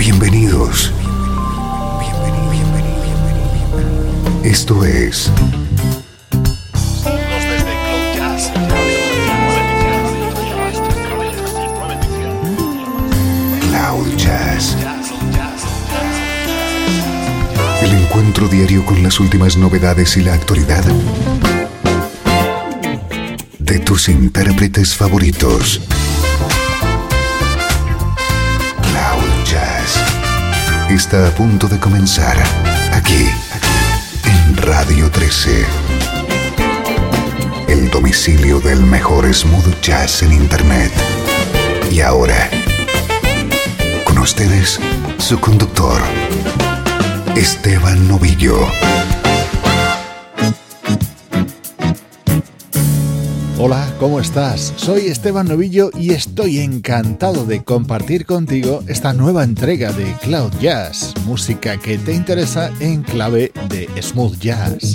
Bienvenidos. Esto es Cloud Jazz. El encuentro diario con las últimas novedades y la actualidad de tus intérpretes favoritos. Cloud Jazz está a punto de comenzar aquí en Radio 13. El domicilio del mejor smooth jazz en internet. Y ahora, con ustedes, su conductor, Esteban Novillo. Hola, ¿cómo estás? Soy Esteban Novillo y estoy encantado de compartir contigo esta nueva entrega de Cloud Jazz, música que te interesa en clave de smooth jazz.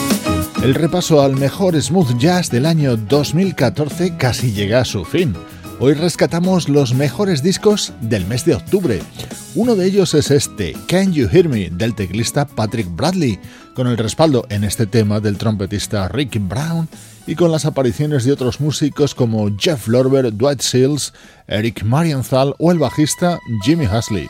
El repaso al mejor smooth jazz del año 2014 casi llega a su fin. Hoy rescatamos los mejores discos del mes de octubre. Uno de ellos es este, Can You Hear Me, del teclista Patrick Bradley, con el respaldo en este tema del trompetista Rick Brown y con las apariciones de otros músicos como Jeff Lorber, Dwight Seals, Eric Marienthal o el bajista Jimmy Haslip.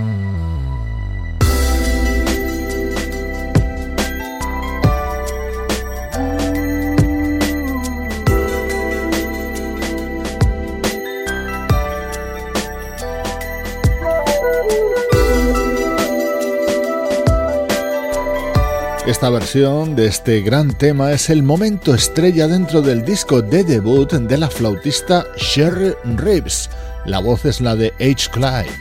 Esta versión de este gran tema es el momento estrella dentro del disco de debut de la flautista Sherry Reeves. La voz es la de H. Clyde.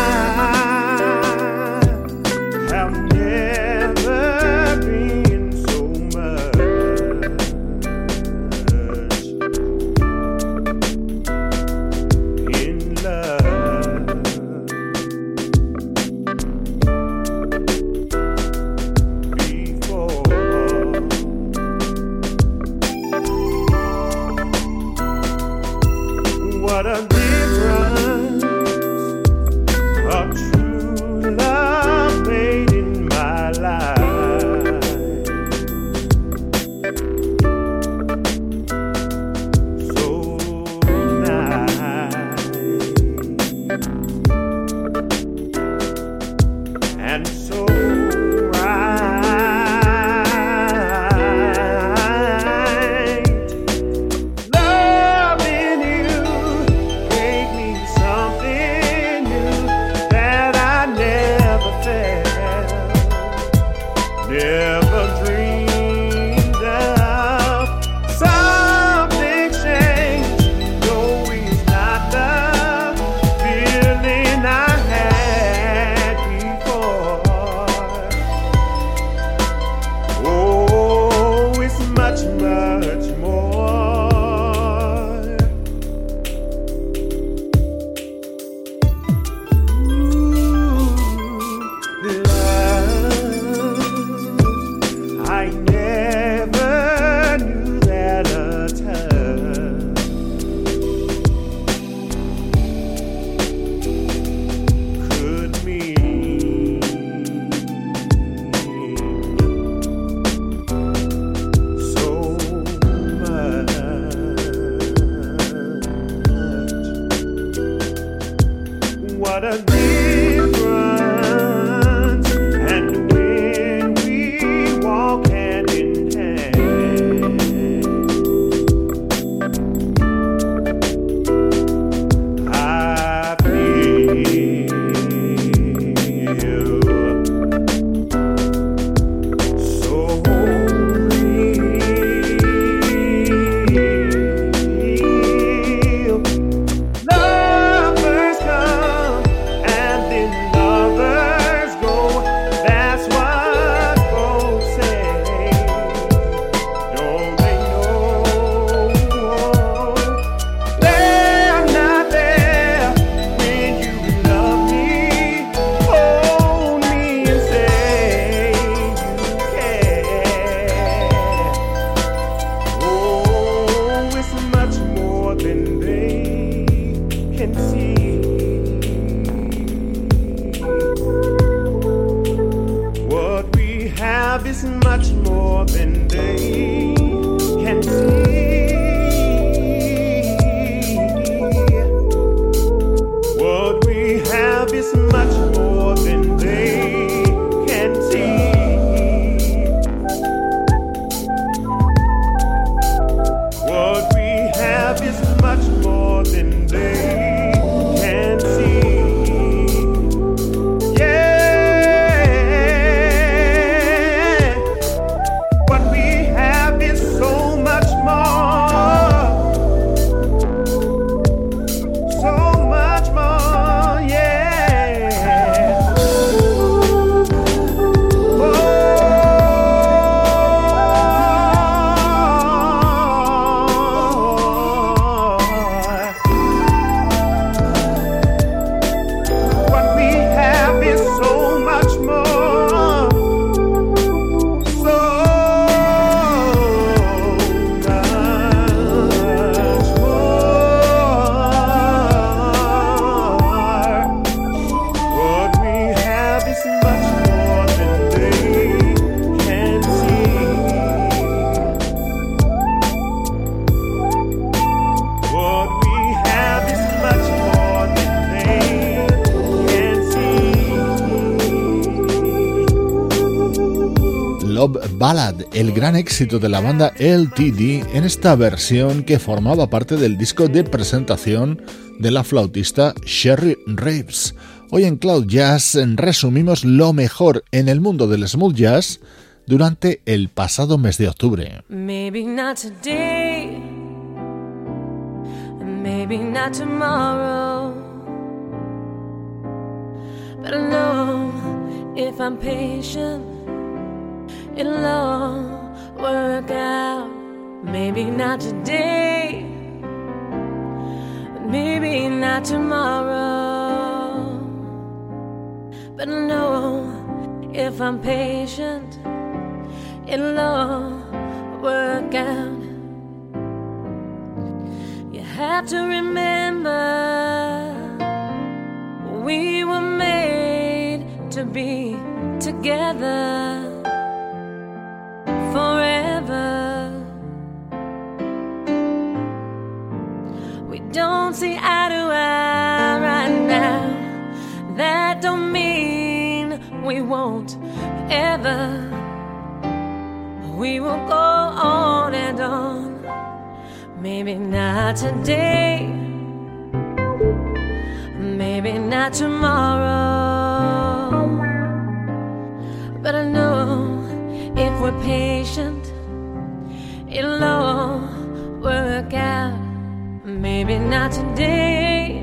What a difference a true love made in my life. So nice and so What we have is so much more. Love Ballad, el gran éxito de la banda LTD en esta versión que formaba parte del disco de presentación de la flautista Sherry Reeves. Hoy en Cloud Jazz resumimos lo mejor en el mundo del smooth jazz durante el pasado mes de octubre. Maybe not today, maybe not tomorrow, but I know if I'm patient, it'll all work out. Maybe not today, maybe not tomorrow, but I know if I'm patient, it'll all work out. You have to remember, we were made to be together forever. We don't see eye to eye right now. That don't mean we won't ever. We will go on and on. Maybe not today, maybe not tomorrow, but I know if we're patient, it'll all work out. Maybe not today,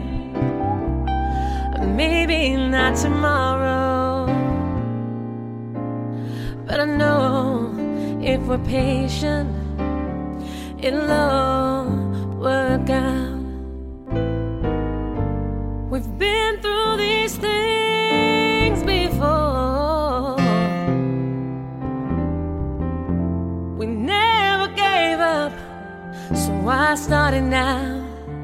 maybe not tomorrow, but I know if we're patient, it'll all work out. We've been through these things before. We never gave up, so why start it now?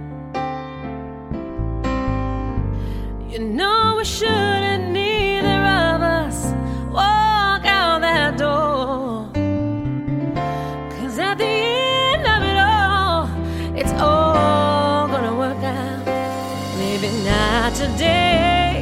You know we shouldn't, neither of us, walk out that door. 'Cause at the end of it all, it's all gonna work out. Maybe not today,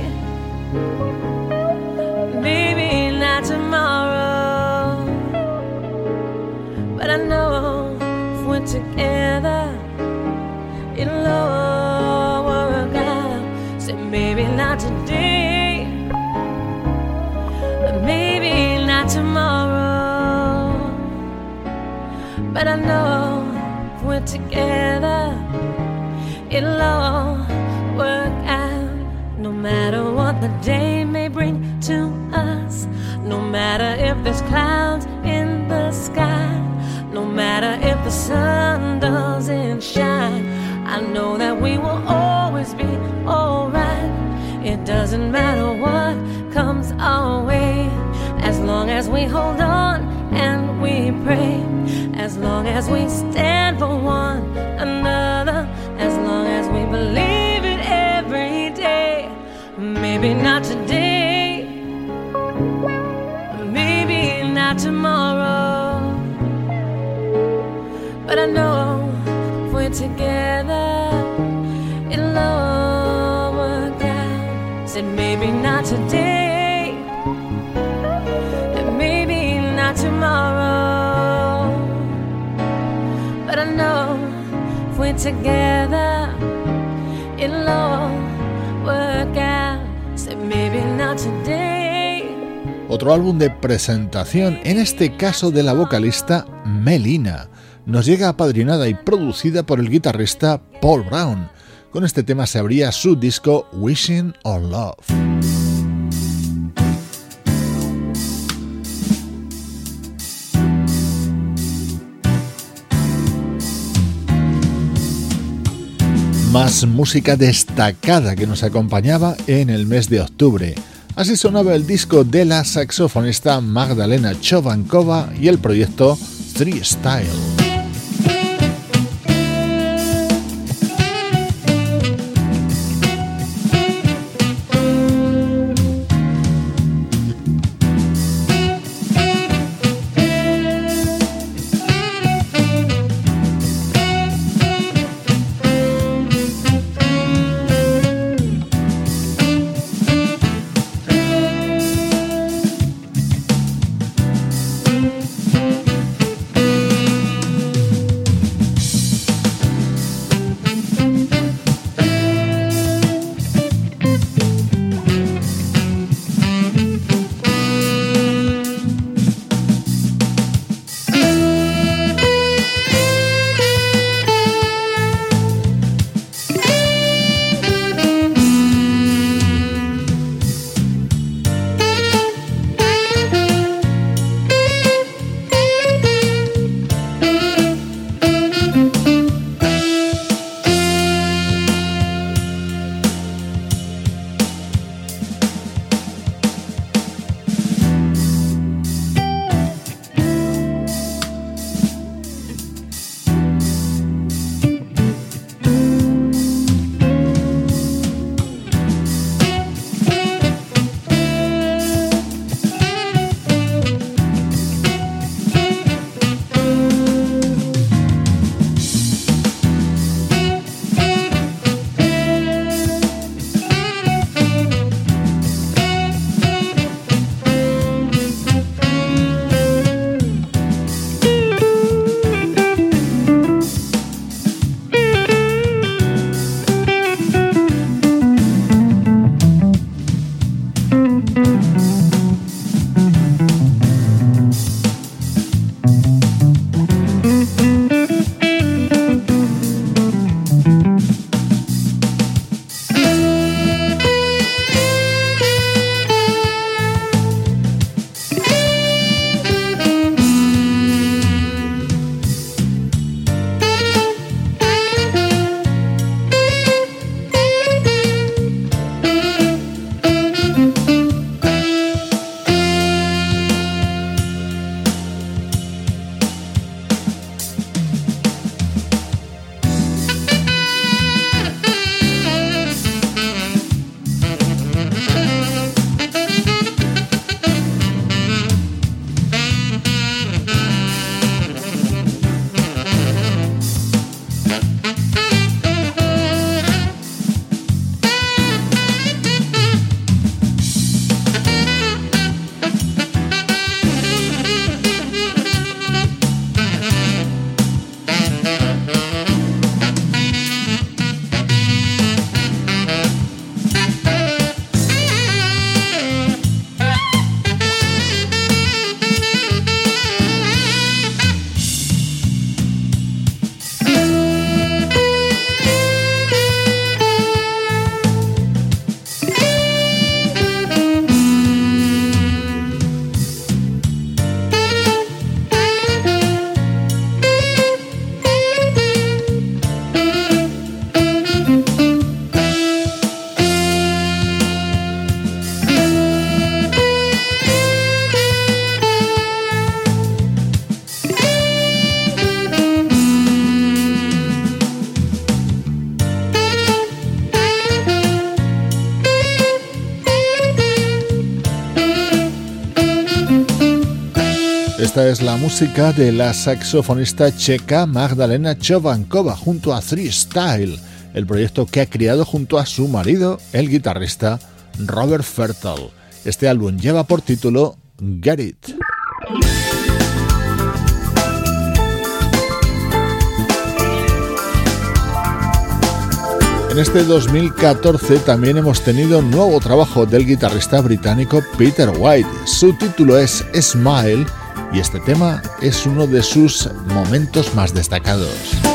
maybe not tomorrow, but I know if we're together, it'll all work out. Say maybe not today, maybe not tomorrow, but I know if we're together, it'll all work out. No matter what the day may bring to us, no matter if there's clouds in the sky, no matter if the sun doesn't shine, I know that we will always be alright. It doesn't matter what comes our way, as long as we hold on and we pray, as long as we stand for one another, as long as we believe it every day. Maybe not today, maybe not tomorrow, but I know if we're together, it'll all work out. Said maybe not today, and maybe not tomorrow, but I know if we're together, it'll all work out. Said maybe not today. Otro álbum de presentación, en este caso de la vocalista Melina. Nos llega apadrinada y producida por el guitarrista Paul Brown. Con este tema se abría su disco Wishing on Love. Más música destacada que nos acompañaba en el mes de octubre. Así sonaba el disco de la saxofonista Magdalena Chovancova y el proyecto Three Style. Esta es la música de la saxofonista checa Magdalena Chovankova junto a Three Style, el proyecto que ha creado junto a su marido, el guitarrista Robert Fertel. Este álbum lleva por título Get It. En este 2014 también hemos tenido un nuevo trabajo del guitarrista británico Peter White. Su título es Smile y este tema es uno de sus momentos más destacados.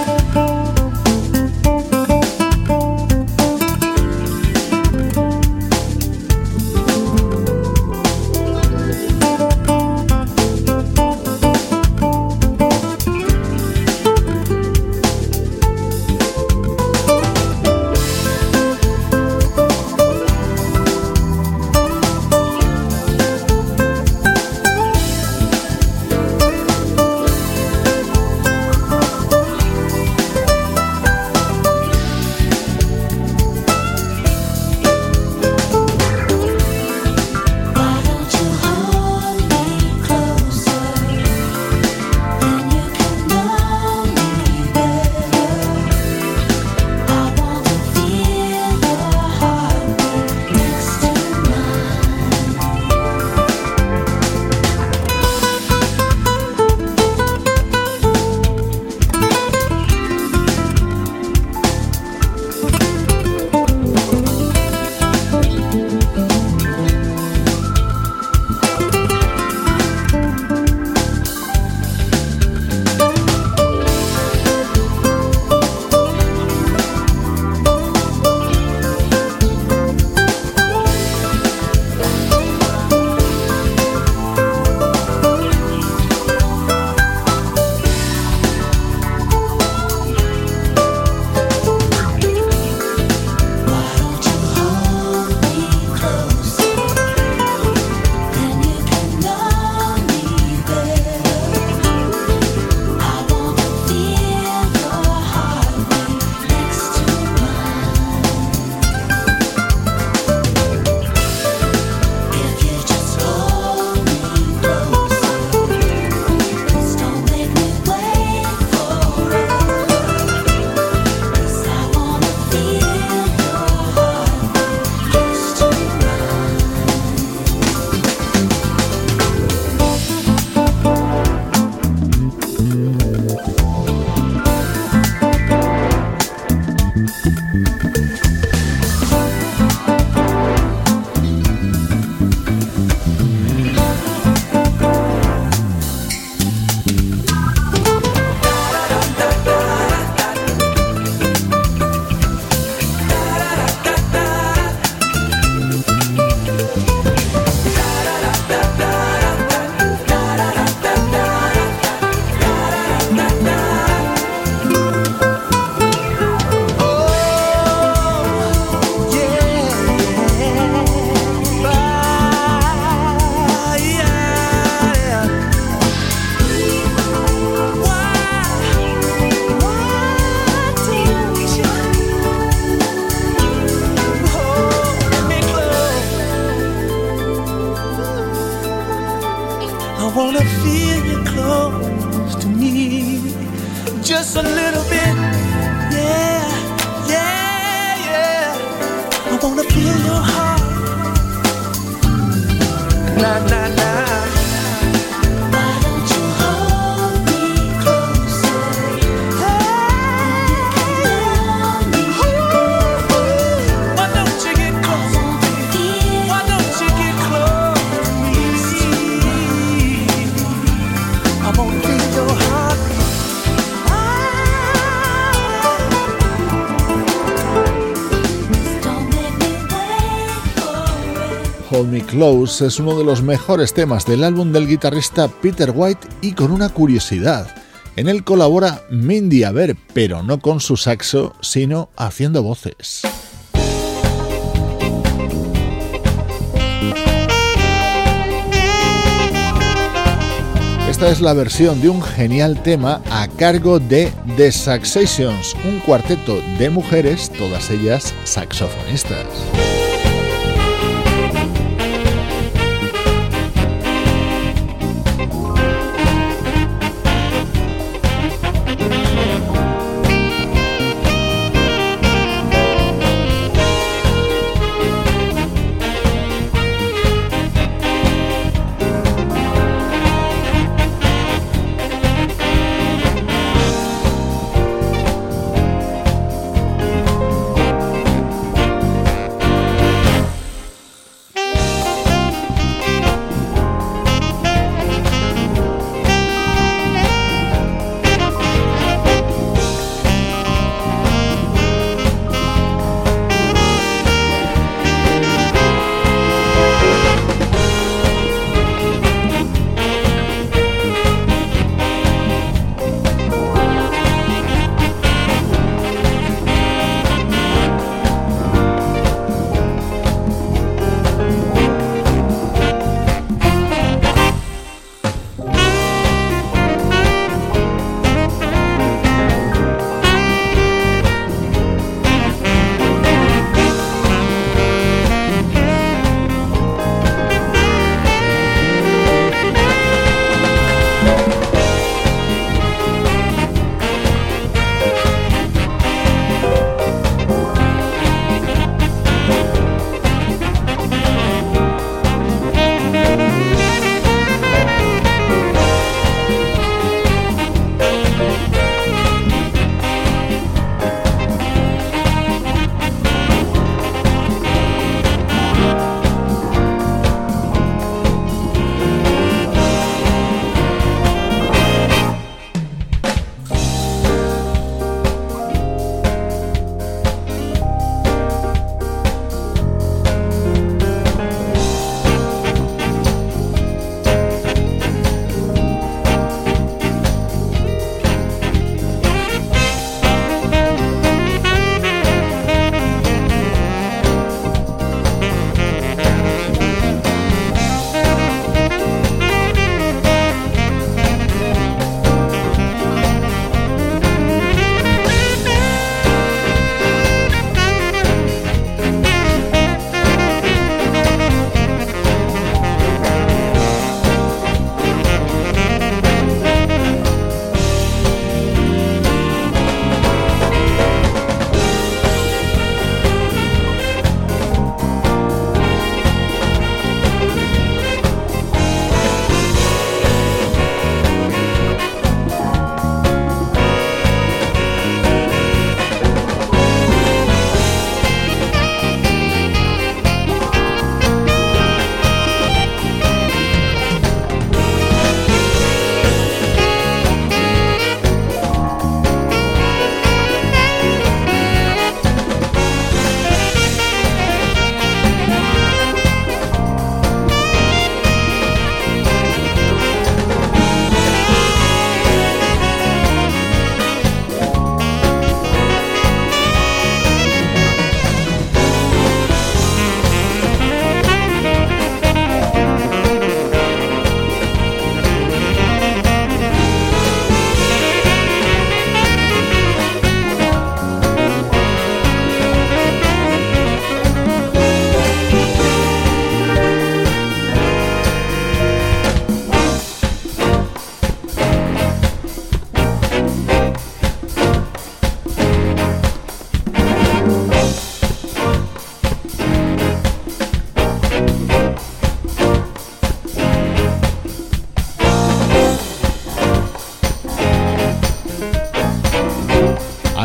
Hold Me Close es uno de los mejores temas del álbum del guitarrista Peter White y con una curiosidad. En él colabora Mindy Aber, pero no con su saxo, sino haciendo voces. Esta es la versión de un genial tema a cargo de The Saxations, un cuarteto de mujeres, todas ellas saxofonistas.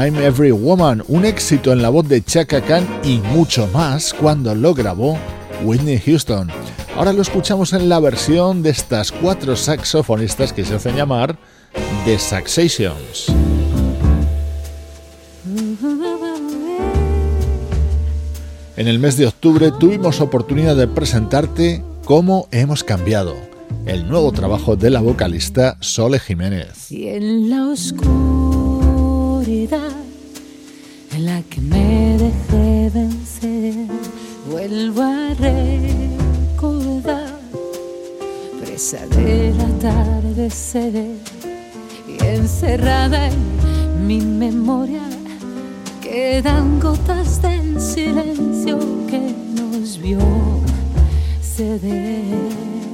I'm Every Woman, un éxito en la voz de Chaka Khan y mucho más cuando lo grabó Whitney Houston. Ahora lo escuchamos en la versión de estas 4 saxofonistas que se hacen llamar The Saxations. En el mes de octubre tuvimos oportunidad de presentarte Cómo hemos cambiado, el nuevo trabajo de la vocalista Sole Jiménez. Y en la oscuridad en la que me dejé vencer, vuelvo a recordar, presa del atardecer y encerrada en mi memoria, quedan gotas del silencio que nos vio ceder.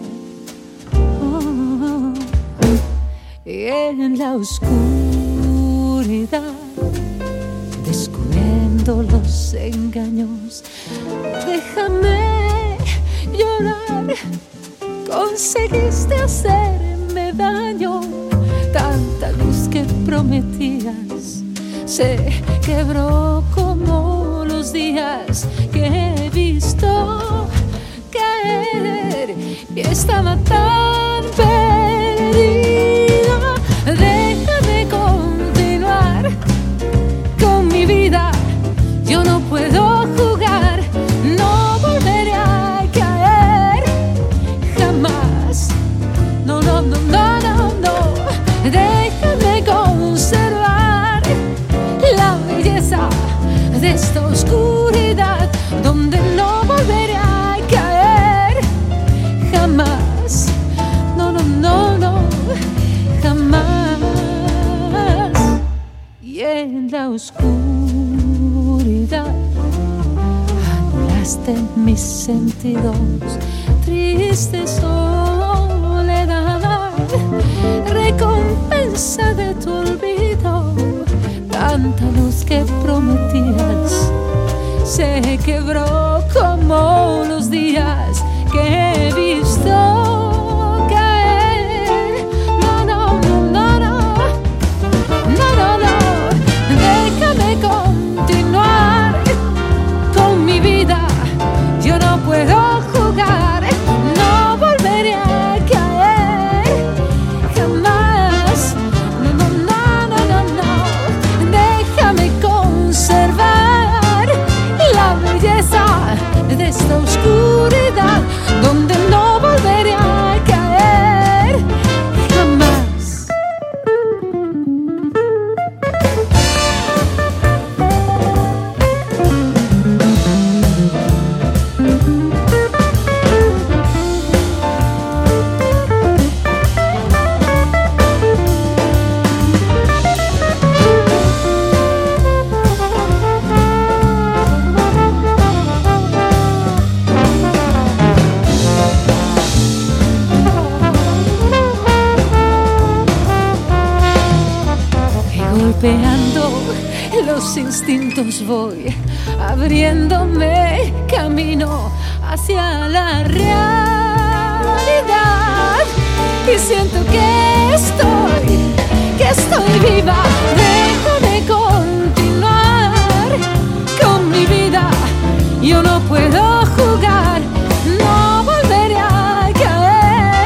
Y en la oscuridad, descubriendo los engaños, déjame llorar. Conseguiste hacerme daño, tanta luz que prometías se quebró como los días que he visto caer y estaba tan perdida. Déjame continuar con mi vida, yo no puedo jugar, no volveré a caer jamás. No, no, no, no, no, no. Déjame conservar la belleza de esta oscuridad donde no volveré a caer jamás. No, no, no, no, jamás. Y en la oscuridad anulaste mis sentidos, triste soledad, recompensa de tu olvido. Tanta luz que prometías se quebró como los días que he visto caer. No, no, no, no, no, no, no, no. Déjame continuar con mi vida, yo no puedo jugar, no volveré a caer jamás. No, no, no, no, no, no. Déjame conservar la belleza de esta oscuridad donde no volveré a caer jamás. Golpeando los instintos voy abriéndome camino hacia la realidad y siento que estoy viva. Déjame continuar con mi vida, yo no puedo jugar, no volveré a caer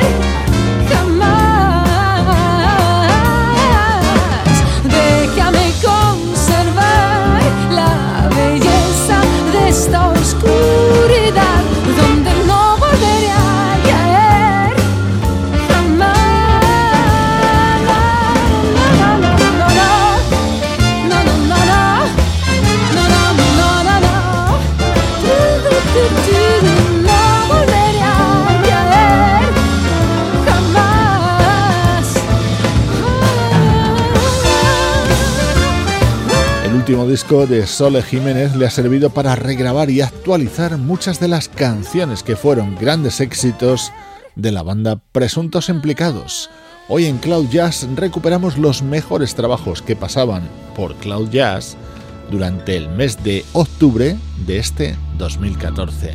jamás. Déjame conservar la belleza de esta oscuridad donde no volveré a caer jamás. No, no, no, no, no, no, no, no, no, no, no volveré a caer jamás. El último disco de Sole Jiménez le ha servido para regrabar y actualizar muchas de las canciones que fueron grandes éxitos de la banda Presuntos Implicados. Hoy en Cloud Jazz recuperamos los mejores trabajos que pasaban por Cloud Jazz durante el mes de octubre de este 2014.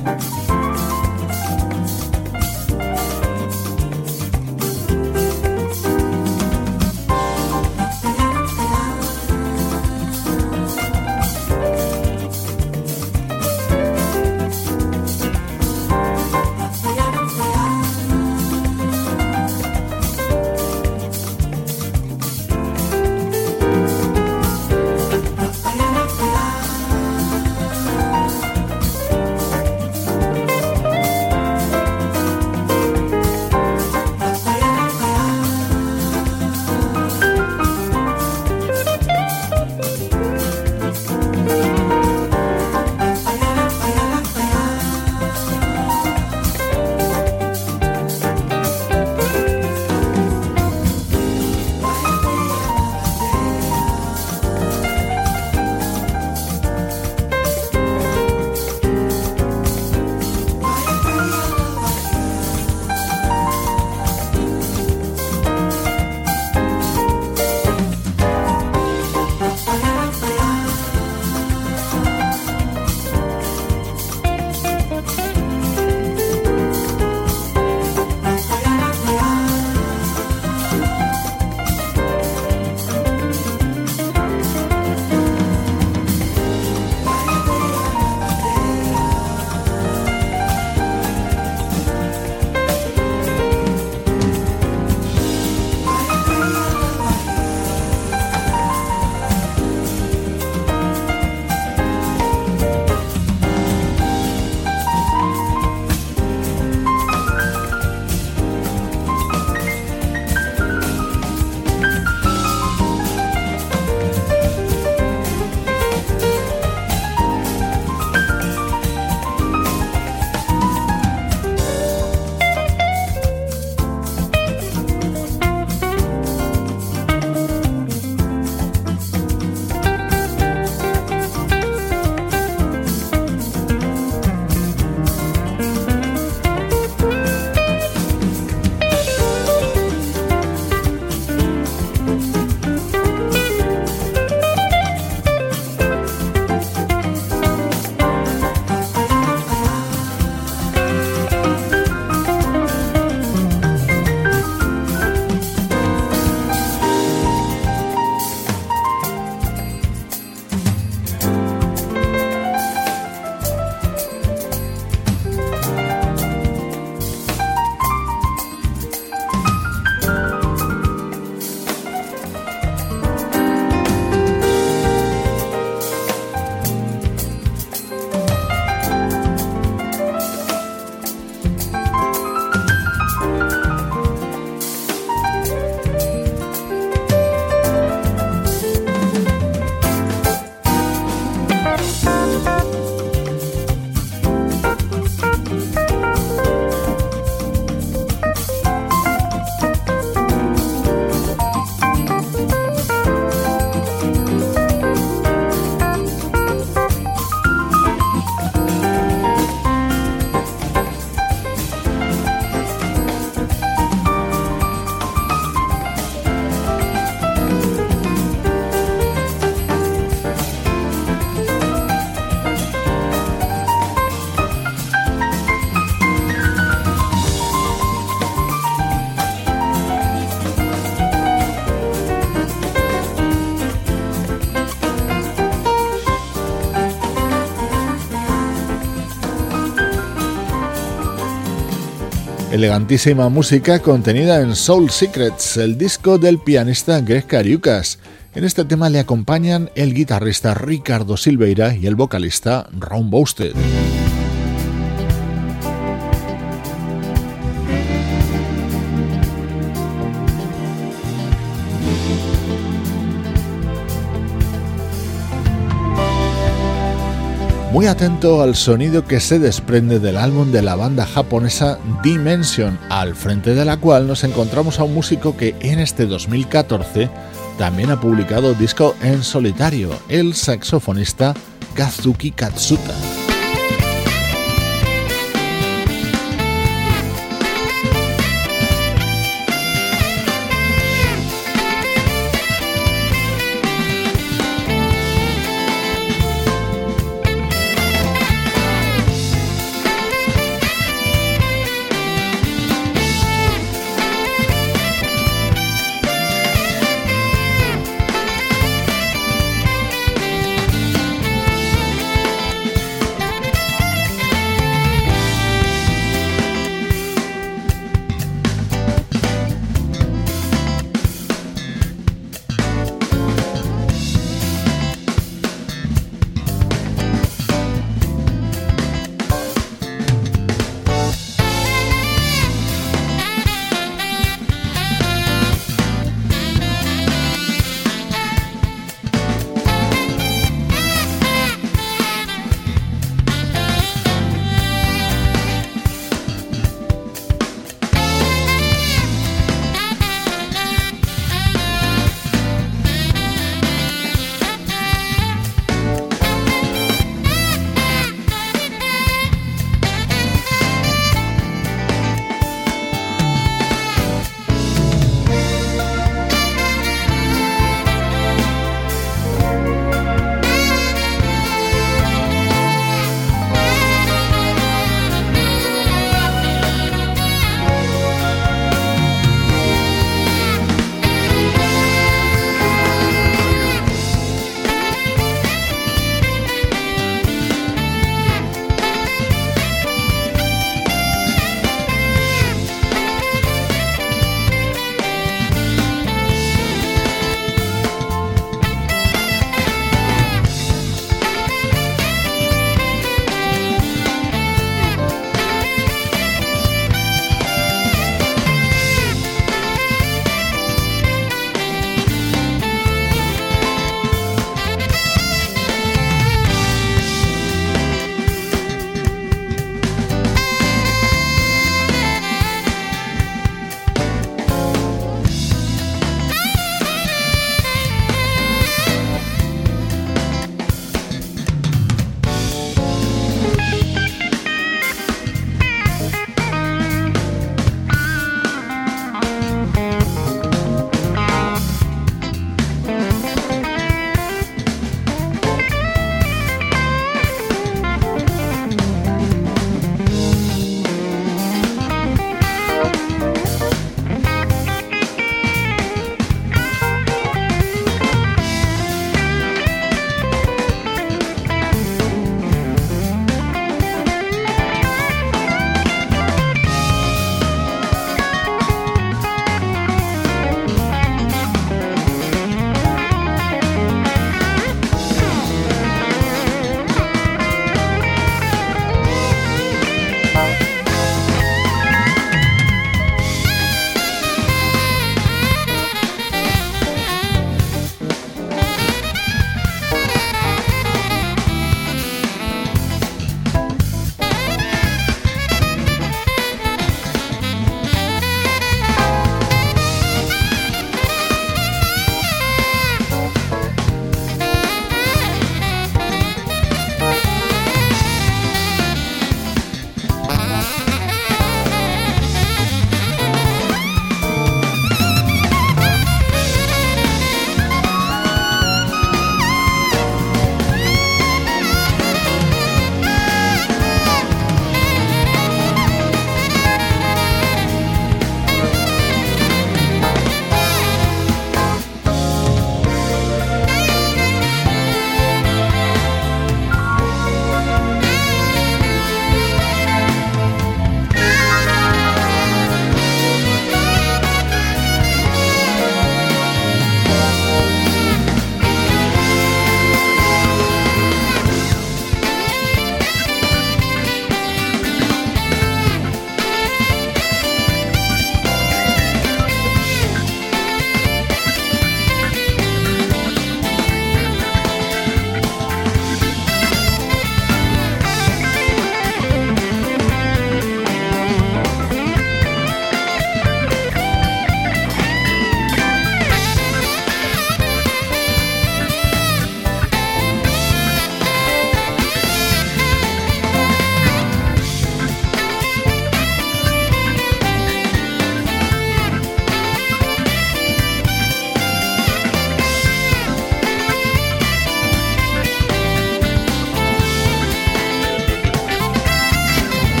Elegantísima música contenida en Soul Secrets, el disco del pianista Greg Cariucas. En este tema le acompañan el guitarrista Ricardo Silveira y el vocalista Ron Bousted. Muy atento al sonido que se desprende del álbum de la banda japonesa Dimension, al frente de la cual nos encontramos a un músico que en este 2014 también ha publicado disco en solitario, el saxofonista Kazuki Katsuta.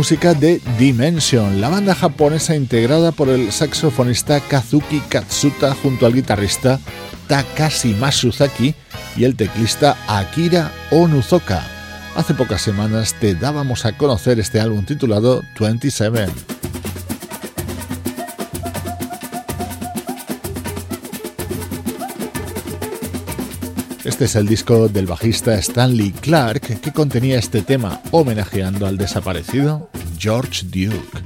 música de Dimension, la banda japonesa integrada por el saxofonista Kazuki Katsuta junto al guitarrista Takashi Masuzaki y el teclista Akira Onuzoka. Hace pocas semanas te dábamos a conocer este álbum titulado 27. Este es el disco del bajista Stanley Clarke que contenía este tema homenajeando al desaparecido George Duke.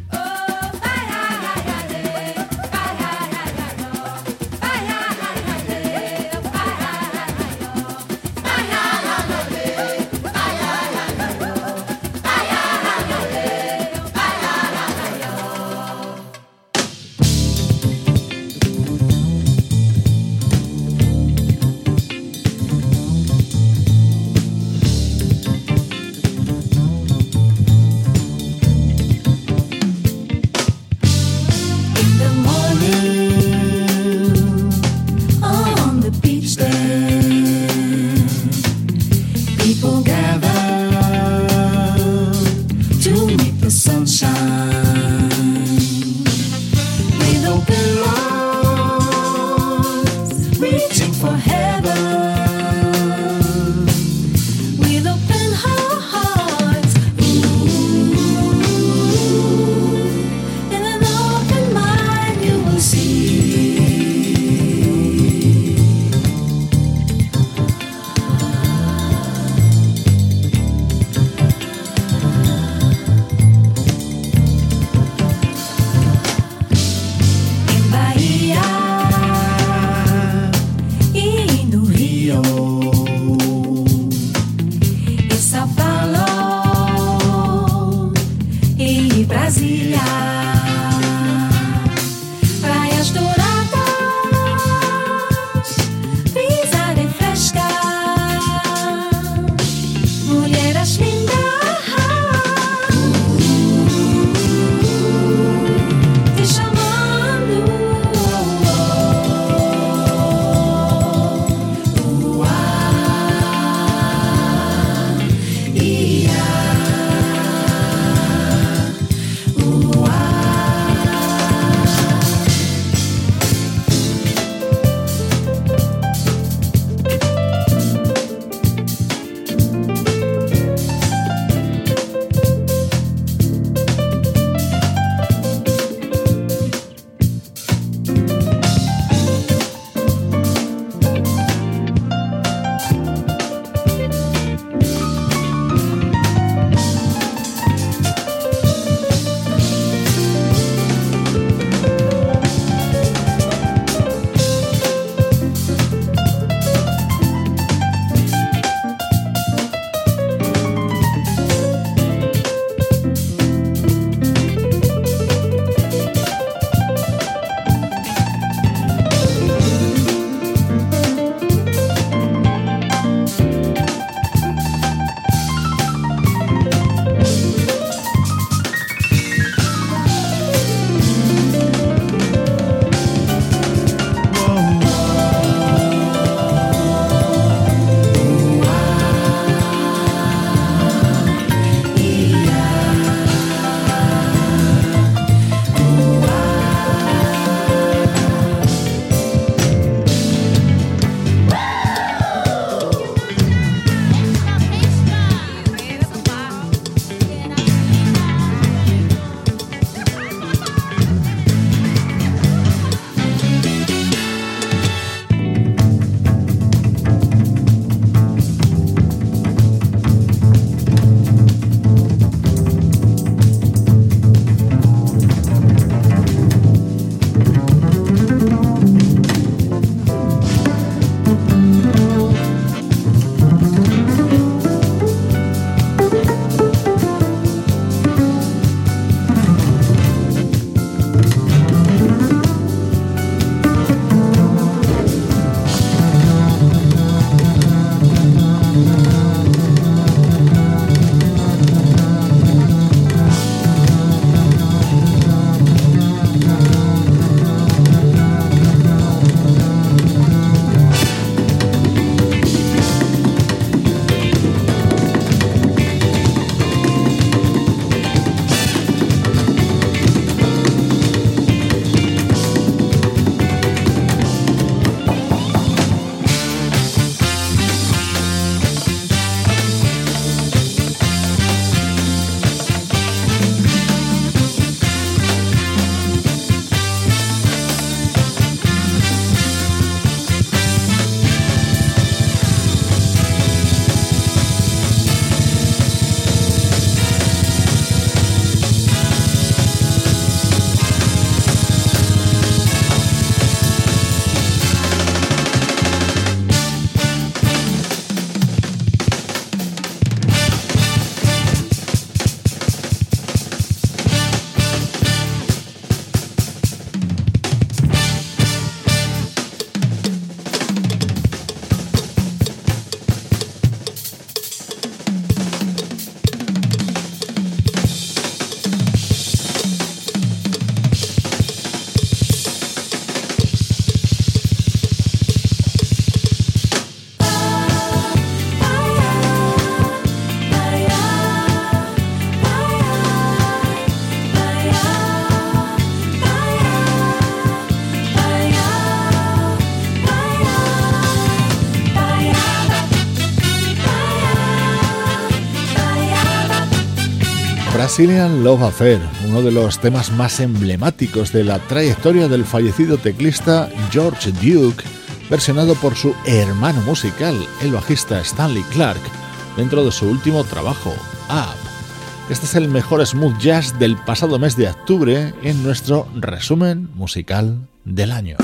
Brazilian Love Affair, uno de los temas más emblemáticos de la trayectoria del fallecido teclista George Duke, versionado por su hermano musical, el bajista Stanley Clarke, dentro de su último trabajo, Up. Este es el mejor smooth jazz del pasado mes de octubre en nuestro resumen musical del año.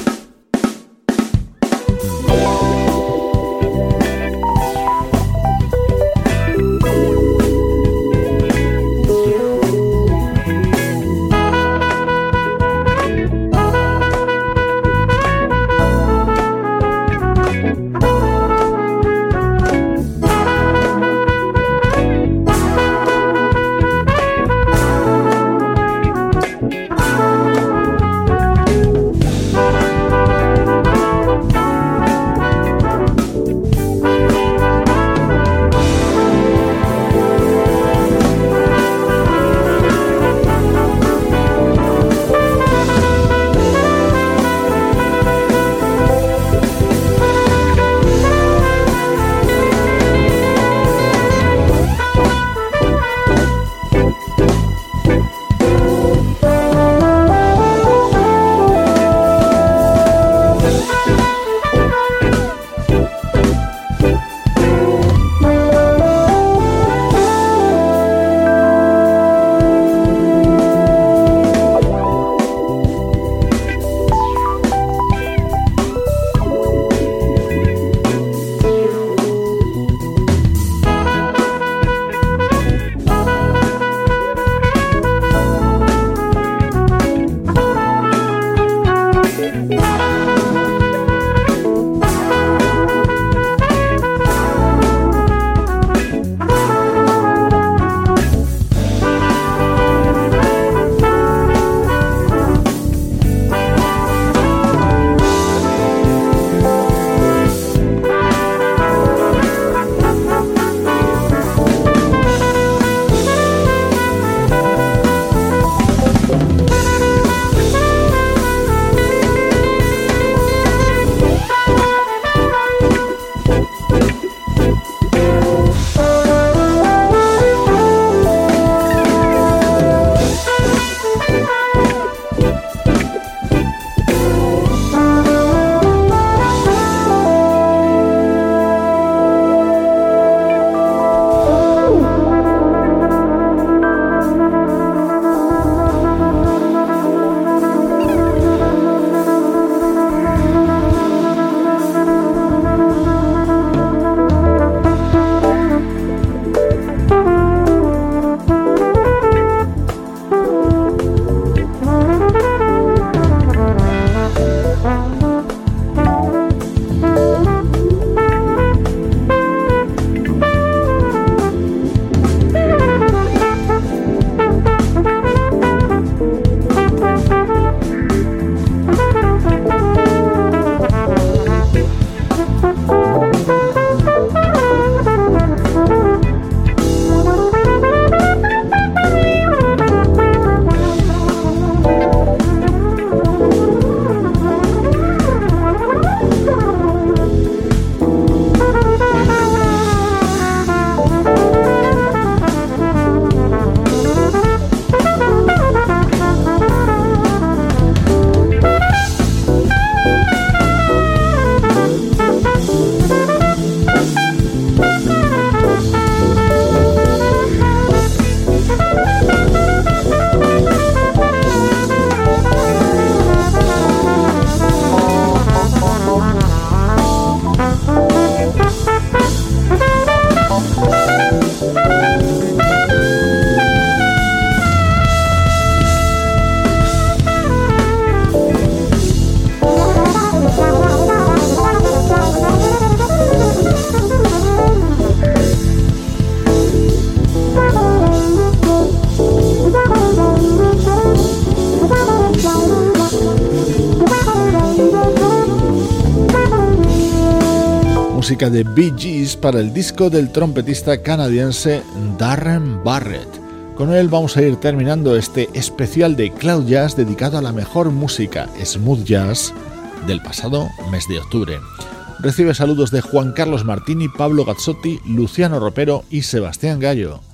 música de Bee Gees para el disco del trompetista canadiense Darren Barrett. Con él vamos a ir terminando este especial de Cloud Jazz dedicado a la mejor música smooth jazz del pasado mes de octubre. Recibe saludos de Juan Carlos Martini, Pablo Gazzotti, Luciano Ropero y Sebastián Gallo.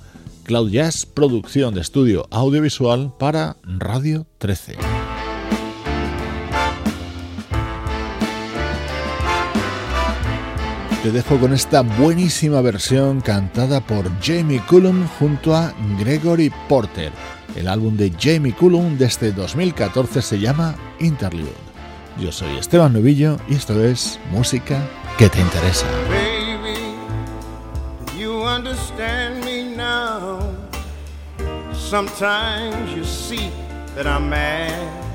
Cloud Jazz, producción de estudio audiovisual para Radio 13. Te dejo con esta buenísima versión cantada por Jamie Cullum junto a Gregory Porter. El álbum de Jamie Cullum desde 2014 se llama Interlude. Yo soy Esteban Novillo y esto es Música que te interesa. Baby, do you understand me now? Sometimes you see that I'm mad.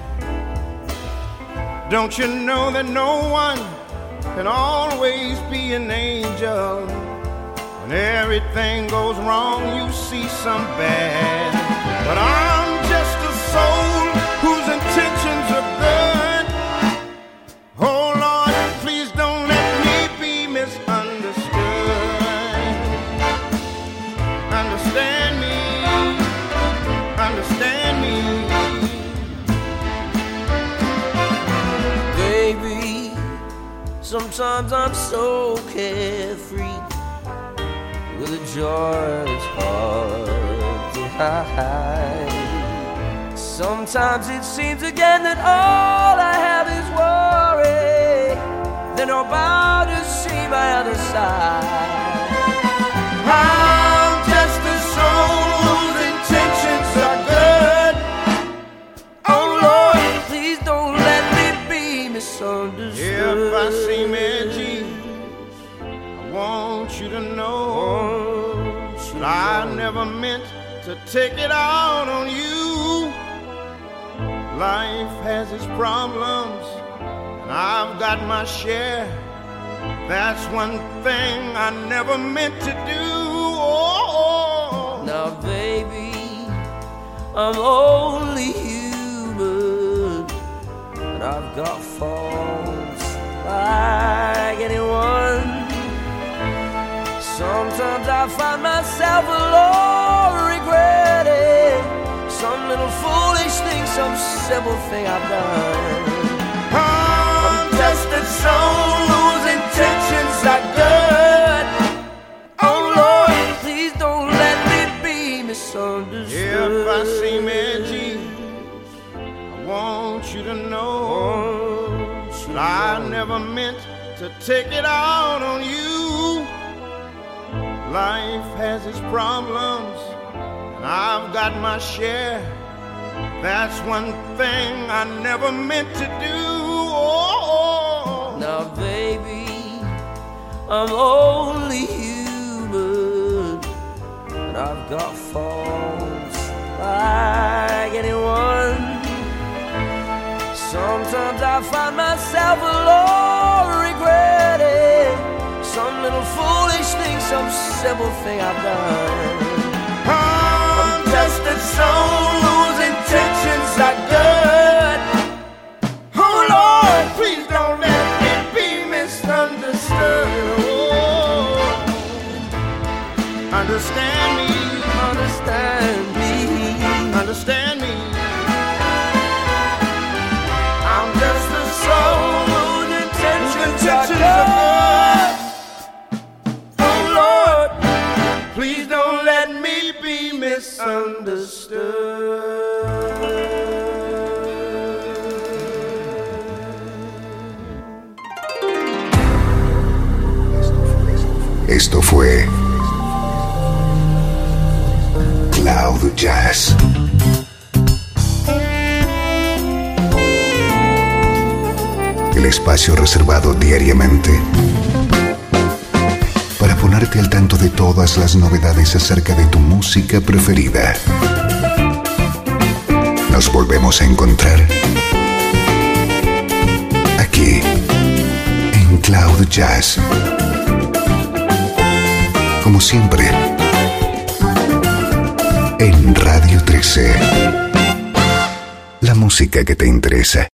Don't you know that no one can always be an angel? When everything goes wrong, you see some bad. But I'm just a soul whose intentions are good. Oh Lord, please don't let me be misunderstood. Understand me, understand me. Baby, sometimes I'm so carefree, with a joy that's hard to hide. Sometimes it seems again that all I have is worry, then I'm about to see my other side. I'm just a soul whose intentions are good. Oh Lord, please don't let me be misunderstood. If I seem edgy, I want you to know that I never meant to take it out on you. Life has its problems, and I've got my share. That's one thing I never meant to do. Oh. Now, baby, I'm only human, and I've got faults like anyone. Sometimes I find myself alone regretting some little foolish thing, some simple thing I've done. I'm just a soul whose intentions are good. Oh Lord, please don't let me be misunderstood. If I seem edgy, I want you to know that I never meant to take it out on you. Life has its problems, and I've got my share. That's one thing I never meant to do. Oh. Now, baby, I'm only human, and I've got faults like anyone. Sometimes I find myself alone regretting some little foolish thing, some simple thing I've done. I'm just a soul whose intentions are good. Oh Lord, please don't let me be misunderstood. Oh. Understand me, Understand me, understand me. I'm just a soul whose intentions are good. Oh Lord, please don't let me be misunderstood. Esto fue Cloud Jazz. El espacio reservado diariamente para ponerte al tanto de todas las novedades acerca de tu música preferida. Nos volvemos a encontrar aquí en Cloud Jazz. Como siempre, en Radio 13. La música que te interesa.